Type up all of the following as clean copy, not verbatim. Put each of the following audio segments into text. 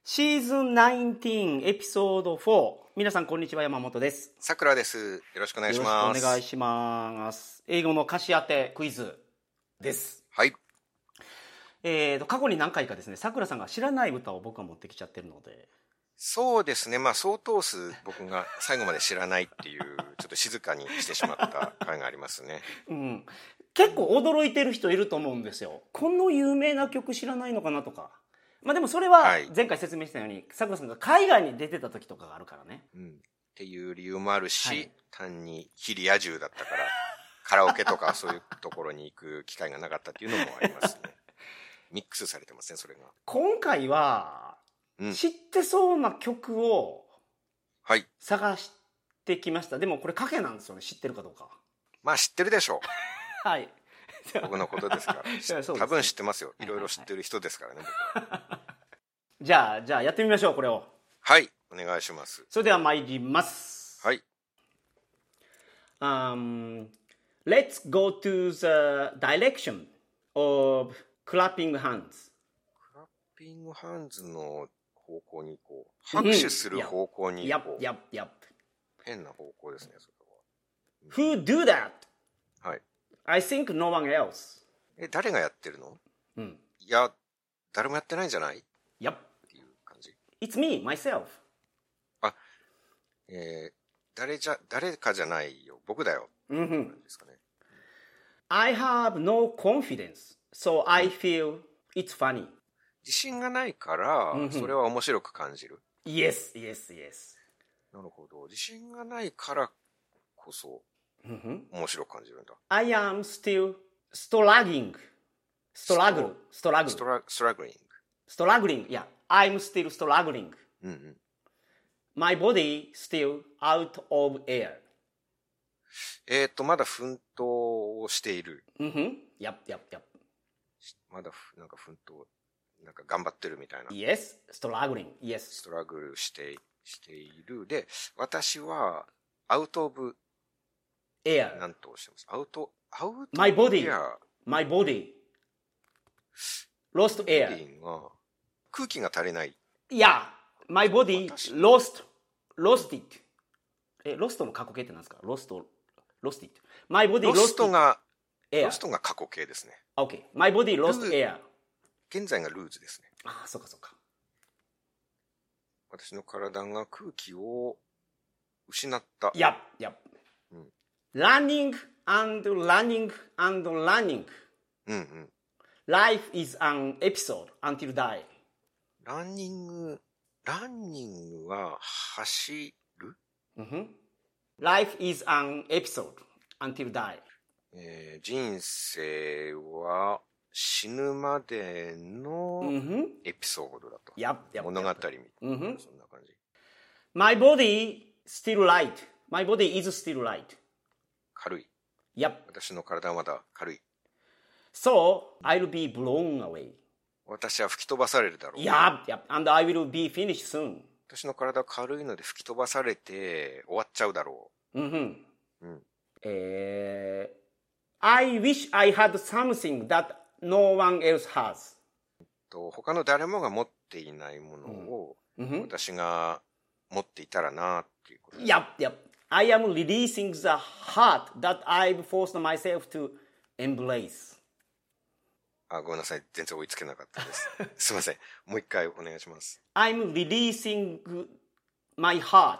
シーズン19エピソード4。皆さんこんにちは、山本です。 さくらです。よろしくお願いします。 よろしくお願いします。英語の歌詞当てクイズです。 はい。 過去に何回かですね、さくらさんが知らない歌を僕が持ってきちゃってるので。 そうですね。相当数僕が最後まで知らないっていう、ちょっと静かにしてしまった回がありますね。 うん。結構驚いてる人いると思うんですよ。この有名な曲知らないのかなとか。でもそれは前回説明したように、さくらさんが海外に出てた時とかがあるからね。 っていう理由もあるし、単に非リア充だったから、カラオケとかそういうところに行く機会がなかったっていうのもありますね。ミックスされてますね、それが。 今回は、知ってそうな曲を探してきました。でもこれ賭けなんですよね、知ってるかどうか。 知ってるでしょう。 はい。 僕のことですから。多分知ってますよ。いろいろ知ってる人ですからね、僕は。 じゃあやってみましょう、これを。 はい、お願いします。 それでは参ります。 はい。 Let's go to the direction of clapping hands. クラッピングハンズの方向に行こう。拍手する方向に行こう。 Yep. 変な方向ですね、それは。Who do that? はい。 I think no one else. 誰がやってるの？いや、誰もやってないんじゃない？ Yep. っていう感じ。 It's me, myself. 誰かじゃないよ。僕だよ。ですかね。 I have no confidence, so I feel it's funny. 自信がないから、それは面白く感じる。 Yes. なるほど。自信がないからこそ、面白く感じるんだ。 I am still struggling. Struggling. Yeah, I'm still struggling. My body still out of air. まだ奮闘をしている。 Yep. まだなんか奮闘、なんか頑張ってるみたいな。 Yes, struggling. Yes. ストラグルしている。で、私は、アウトオブ、 air. なんとおっしゃいます。 My body. Lost air. 空気が足りない。 Yeah, my body lost it. ロストの過去形って何ですか？ロスト it. My body lost air. ロストが過去形ですね。 Okay. My body lost air. 現在がルーズですね。 そうか。 私の体が空気を失った。 Yep. Running. Life is an episode until die. ランニングは走る？ Life is an episode until die. 人生は死ぬまでのエピソードだと。 Yep. 物語みたいな、そんな感じ。 My body still light. My body is still light. 軽い。 Yep. 私の体はまだ軽い。 So, I'll be blown away. 私は吹き飛ばされるだろう。 Yep. And I will be finished soon. 私の体は軽いので吹き飛ばされて終わっちゃうだろう。 I wish I had something that no one else has. 他の誰もが持っていないものを私が持っていたらなっていうことです。 Yep. I am releasing the heart that I've forced myself to embrace. ごめんなさい。全然追いつけなかったです。すいません。もう一回お願いします。 I'm releasing my heart.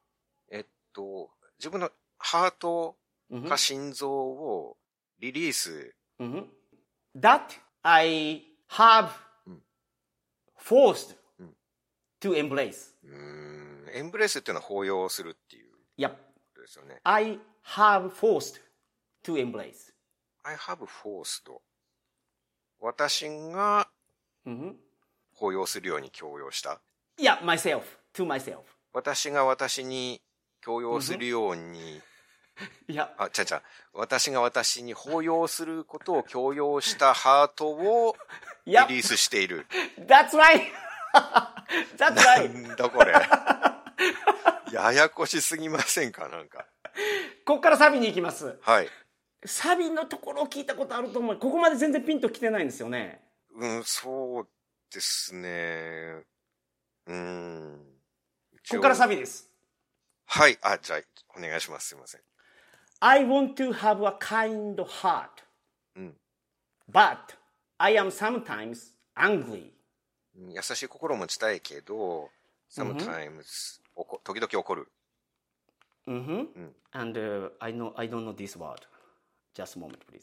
自分のハートか心臓をリリース。 That I have forced to embrace. エンブレイスっていうのは包容するっていうことですよね。 I have forced to embrace. I have forced. 私が包容するように強要した。 Yeah, myself. To myself. 私が私に強要するように、私が私に包容することを強要したハートをリリースしている。 That's right! That's right! なんだこれ。ややこしすぎませんか？なんか。 こっからサビに行きます。 はい。 サビのところを聞いたことあると思う。ここまで全然ピンときてないんですよね。 そうですね。 ここからサビです。 はい。じゃあ、お願いします。すいません。 I want to have a kind heart. But I am sometimes angry. 優しい心を持ちたいけど、sometimes、時々怒る。 And I don't know this word. Just a moment, please.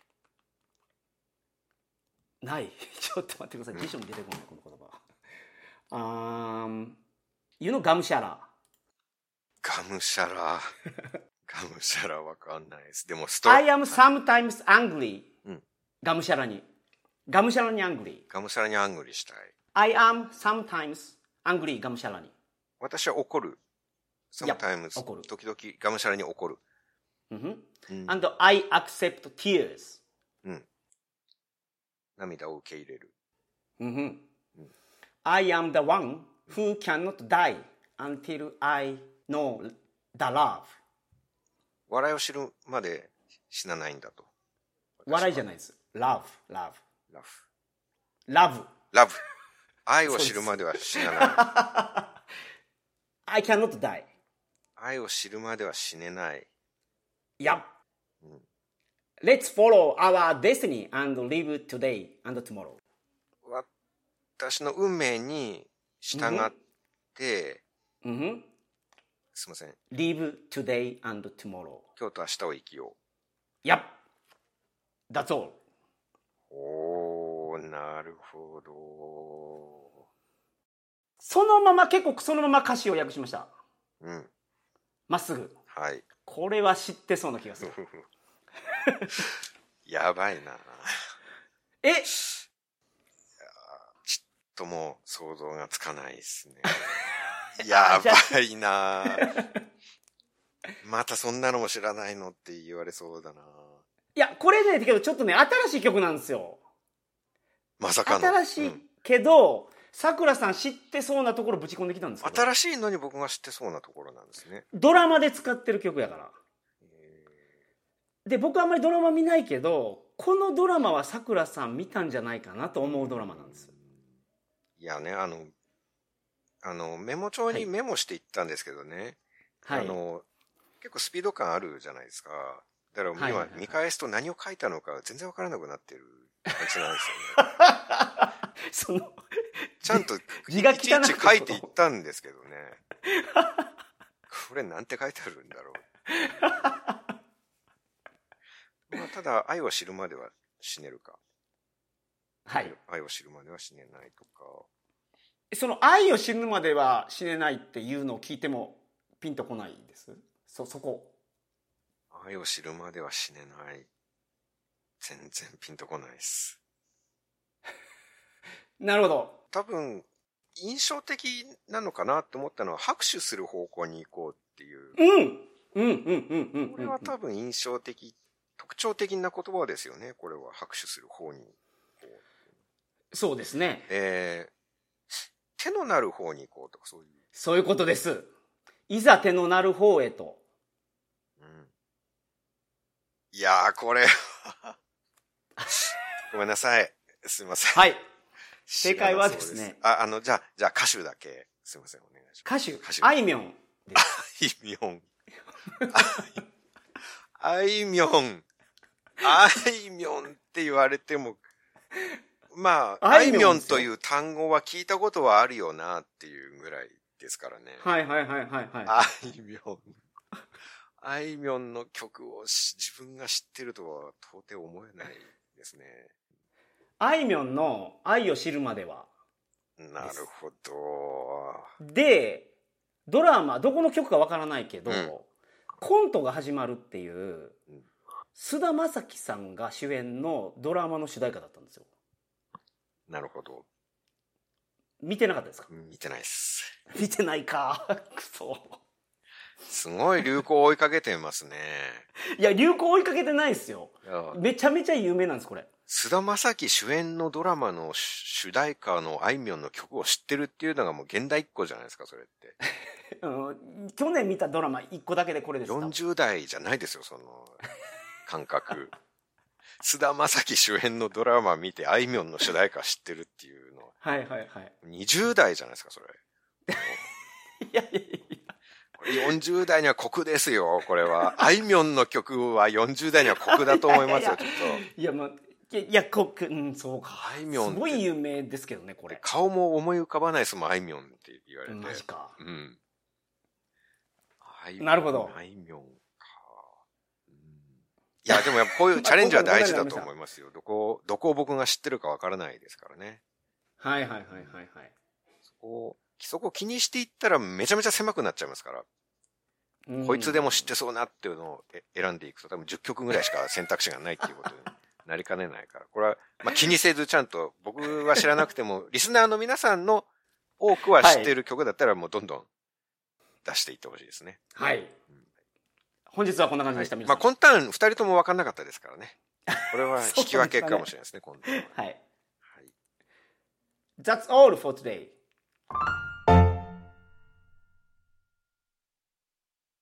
ない。ちょっと待ってください。辞書に出てこない、この言葉。You know ガムシャラ。 ガムシャラ。ガムシャラわかんないです。でも I am sometimes angry. ガムシャラに。ガムシャラに angry。 ガムシャラにアングリしたい。 I am sometimes angry. ガムシャラに。 私は怒る。sometimes。 怒る。 時々ガムシャラに怒る。 And I accept tears. 涙を受け入れる。 I am the one who cannot die until I know the love. 笑いを知るまで死なないんだと。 笑いじゃないです。love. 愛を知るまでは死なない。 I cannot die. 愛を知るまでは死ねない。 Yep. Let's follow our destiny and live today and tomorrow. 私の運命に従って、すいません。 Live today and tomorrow. 今日と明日を生きよう。Yep. That's all. なるほど。 そのまま歌詞を訳しました。まっすぐ。 はい。 これは知ってそうな気がする。 やばいな。ちょっともう想像がつかないですね。やばいな。またそんなのも知らないのって言われそうだな。 いや、これね、けどちょっとね、新しい曲なんですよ。 まさかの。 新しいけど、さくらさん知ってそうなところぶち込んできたんですよ。 新しいのに僕が知ってそうなところなんですね。 ドラマで使ってる曲やから。で、僕はあんまりドラマ見ないけど、このドラマはさくらさん見たんじゃないかなと思うドラマなんです。 いやね、メモ帳にメモしていったんですけどね。はい。結構スピード感あるじゃないですか。だから今見返すと何を書いたのか全然わからなくなってる感じなんですよね。ちゃんといちいち書いていったんですけどね。これなんて書いてあるんだろう。まあ、ただ愛を知るまでは死ねるか。はい。愛を知るまでは死ねないとか。 その愛を知るまでは死ねないっていうのを聞いてもピンとこないです。そこ。 愛を知るまでは死ねない。全然ピンとこないです。 なるほど。 多分、印象的なのかなって思ったのは、拍手する方向に行こうっていう。これは多分印象的、特徴的な言葉ですよね。これは拍手する方に行こう。そうですね。 手のなる方に行こうとか、そういう。 そういうことです。いざ手のなる方へと。 いやー、これごめんなさい。すいません。 はい。正解はですね。 じゃあ歌手だけ。すいません、お願いします。 歌手あいみょんです。 あいみょん。あいみょん。あいみょんって言われても、まあ、あいみょんという単語は聞いたことはあるよなっていうぐらいですからね。 はい。 あいみょん。あいみょんの曲を自分が知ってるとは到底思えないですね。 あいみょんの愛を知るまでは。 なるほど。 で、ドラマ、どこの曲かわからないけど、コントが始まるっていう、菅田将暉さんが主演のドラマの主題歌だったんですよ。 なるほど。 見てなかったですか？ 見てないです。 見てないか。くそ。 すごい流行を追いかけてますね。 いや、流行追いかけてないですよ。めちゃめちゃ有名なんです、これ。 菅田将暉主演のドラマの主題歌のあいみょんの曲を知ってるっていうのがもう現代一個じゃないですか、それって。 去年見たドラマ1個だけでこれです。 40代じゃないですよ、その感覚。菅田将暉主演のドラマ見てあいみょんの主題歌知ってるっていうのは。 はい。 20代じゃないですか、それ。 いやいやいや。 これ40代には酷ですよ、これは。あいみょんの曲は40代には酷だと思いますよ、ちょっと。 いや、まあ、いや、酷、そうか。 あいみょん。 すごい有名ですけどね、これ。 顔も思い浮かばないですもん、あいみょんって言われて。 マジか。 うん。 なるほど。 あいみょんか。いや、でもやっぱこういうチャレンジは大事だと思いますよ。どこを僕が知ってるかわからないですからね。 はいはいはいはいはい。 そこ気にしていったらめちゃめちゃ狭くなっちゃいますから。こいつでも知ってそうなっていうのを選んでいくと多分10曲ぐらいしか選択肢がないっていうことになりかねないから。これは、まあ、気にせずちゃんと僕は知らなくても、リスナーの皆さんの多くは知っている曲だったらもうどんどん出していってほしいですね。 はい。本日はこんな感じでした、 はい、まあ、今ターン2人とも分かんなかったですからね。これは引き分けかもしれないですね、今度は。 はい。That's all for today.